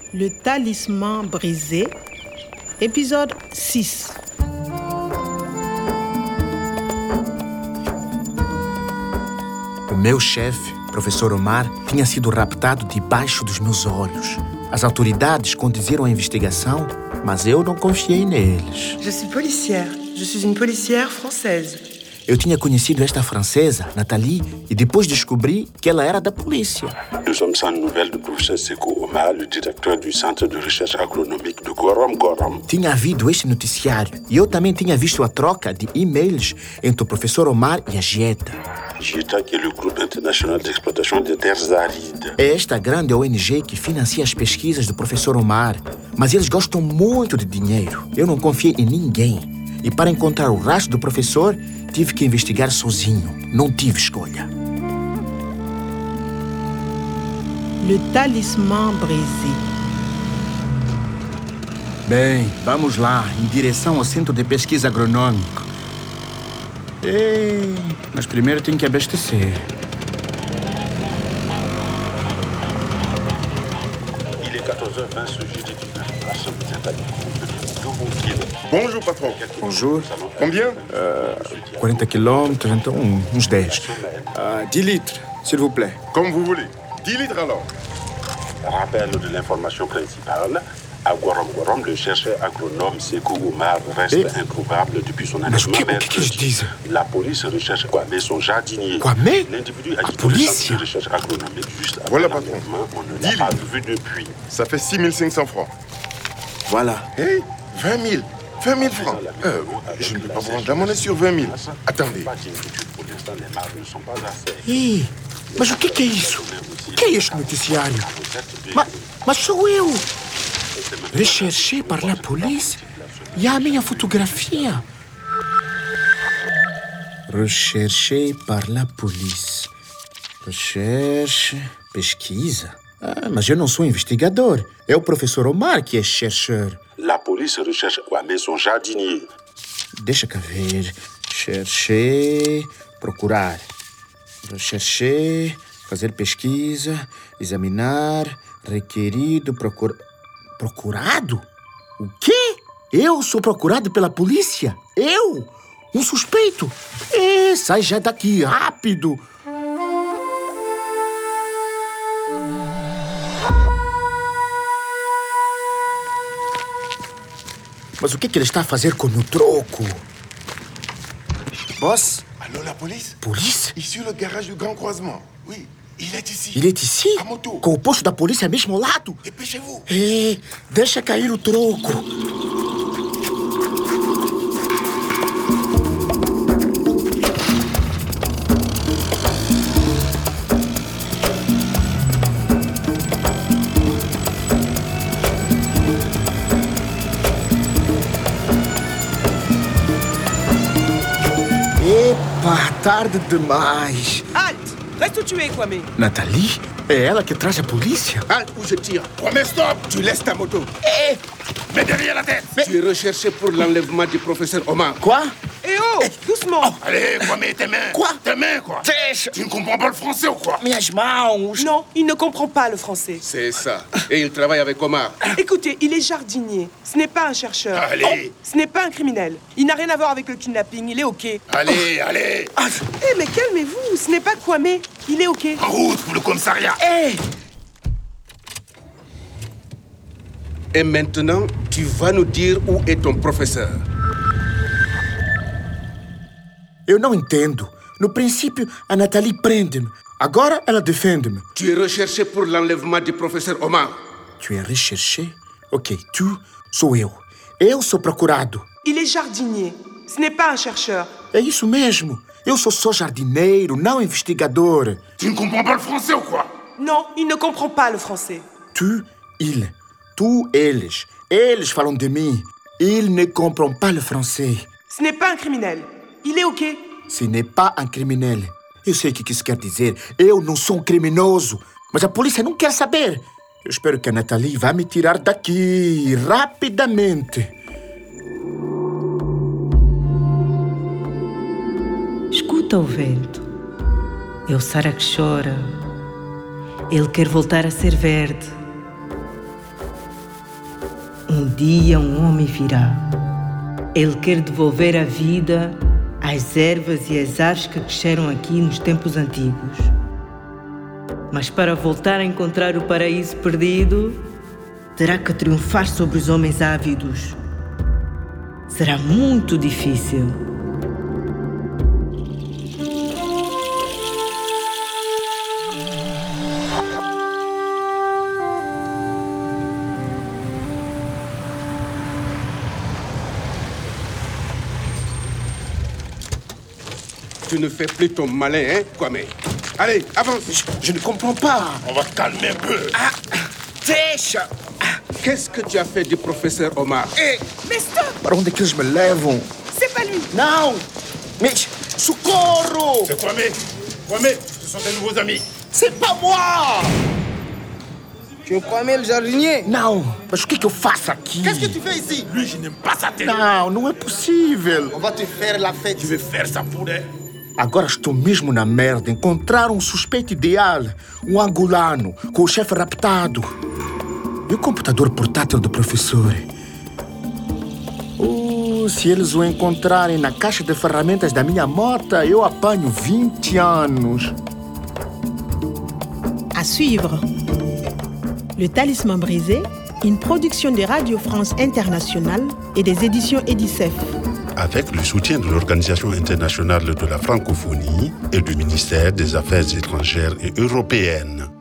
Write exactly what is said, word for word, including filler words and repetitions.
Le talisman brisé, épisode six. O meu chefe, professor Omar, tinha sido raptado debaixo dos meus olhos. As autoridades conduziram a investigação, mas eu não confiei neles. Je suis policière. Je suis une policière française. Eu tinha conhecido esta francesa, Nathalie, e depois descobri que ela era da polícia. Nous sommes sans nouvelles do professeur Sékou Omar, le directeur du Centre de Recherche Agronomique de Gorom Gorom. Tinha havido este noticiário e eu também tinha visto a troca de e-mails entre o professor Omar e a Gieta. Gieta, que é o Grupo Internacional de Exploitação de Terres Áridas. É esta grande O N G que financia as pesquisas do professor Omar, mas eles gostam muito de dinheiro. Eu não confiei em ninguém. E para encontrar o rastro do professor, tive que investigar sozinho. Não tive escolha. Le talisman brisé. Bem, vamos lá, em direção ao Centro de Pesquisa Agronômica. Ei, mas primeiro tem que abastecer. Il est quatorze heures vingt, sujet d'étudiants. La somme est Bonjour, patron. Bonjour. Combien Uh, quarenta quilômetros, então uns dez. Uh, dez litres, s'il vous plaît. Comme vous voulez. dix litres alors. Rappel de l'information principale. À Gorom Gorom, le chercheur agronome Sékou Omar reste Et... introuvable depuis son Mas o que, enlèvement o que, que eles dizem? La police recherche Kwame, son jardinier. Kwame? L'individu a A quitté le centre polícia? de recherche agronomique juste après Voilà, patron. l'enlèvement. On ne Dis-le. l'a pas vu depuis. Ça fait six mille cinq cents francs. Voilà. Hey, vingt mille. vingt mille francs. Euh, je ne peux pas prendre la monnaie sur vingt mille. Attendez. Pour l'instant, les marges ne sont pas assez. Ih, mas o que, que é isso? O que é este noticiário? Ma, mas sou eu! Recherché par la polícia e a minha fotografia. Recherché par la polícia. Recherche, pesquisa. Ah, mas eu não sou investigador. É o professor Omar que é chercheur. La police recherche Kwame, son jardinier. Deixa cá ver. Chercher, procurar. Rechercher, fazer pesquisa, examinar, requerido, procura... Procurado? O quê? Eu sou procurado pela polícia? Eu? Um suspeito? É, sai já daqui, rápido! Mas o que, que ele está a fazer com o troco? Boss? Allô, la police? Polícia? Ici, le garage du Grand Croisement. Oui, il est ici. Ele é ici? A moto. Com o posto da polícia mesmo ao lado? Dépêchez-vous. É, deixa cair o troco. Epa, tarde demais. Halte! Reste où tu es, Kwame. Nathalie? É ela que traz a polícia? Halte ou je tire. Promets, stop. Tu laisses ta moto. Mets derrière la tête. Tu es recherché pour l'enlèvement du professeur Omar. Quoi? Eh oh! Doucement! Allez, quoi, mets tes mains. Quoi? Tes mains, quoi. Deixa! Tu ne comprends pas le français ou quoi? Minhas mãos! Non, il ne comprend pas le français. C'est ça. Et il travaille avec Omar. Écoutez, il est jardinier. Ce n'est pas un chercheur. Allez. Ce n'est pas un criminel. Il n'a rien à voir avec le kidnapping. Il est OK. Allez, allez. Eh, mais calmez-vous. Ce n'est pas Kwame. Il est OK. En route pour le commissariat. Ei! Et maintenant, tu vas nous dire où est ton professeur. Eu não entendo. No princípio, a Nathalie prende-me. Agora, ela defende-me. Tu es recherché pour l'enlèvement du professeur Omar. Tu é recherché? Ok, tu sou eu. Eu sou procurado. Il est jardinier. Ce n'est pas un chercheur. É isso mesmo. Eu sou só jardineiro, não investigador. Tu ne comprends pas le français ou quoi? Non, il ne comprend pas le français. Tu, il. Tu, eles. Eles falam de mim. Ils ne comprennent pas le français. Ce n'est pas un criminel. Il est OK. Ce n'est pas un criminel. Eu sei o que isso quer dizer. Eu não sou um criminoso. Mas a polícia não quer saber. Eu espero que a Nathalie vá me tirar daqui rapidamente. Escuta o vento. É o Sara que chora. Ele quer voltar a ser verde. Um dia um homem virá. Ele quer devolver a vida às ervas e às árvores que cresceram aqui nos tempos antigos. Mas para voltar a encontrar o paraíso perdido, terá que triunfar sobre os homens ávidos. Será muito difícil. Tu ne fais plus ton malin, hein, Kwame? Allez, avance. Je, je ne comprends pas. On va calmer un peu. Ah, deixa! Qu'est-ce que tu as fait du professeur Omar? Ei, Mais stop! para onde é que eles me levam? C'est pas lui! Não! Mitch, socorro! C'est Kwame. Kwame, ce sont tes nouveaux amis. C'est pas moi! Tu es Kwame le jardinier? Não, mas o que, que eu faço aqui? Qu'est-ce que tu fais ici? Lui, je n'aime pas sa tête. Não, não é possível. On va te faire la fête. Tu veux faire ça pour elle? Agora estou mesmo na merda. Encontraram um suspeito ideal. Um angolano, com o chefe raptado. E o computador portátil do professor? Oh, se eles o encontrarem na caixa de ferramentas da minha moto, eu apanho vinte anos. À suivre. Le Talisman brisé, une production de Radio France Internationale et des éditions Edicef. Avec le soutien de l'Organisation internationale de la francophonie et du ministère des Affaires étrangères et européennes.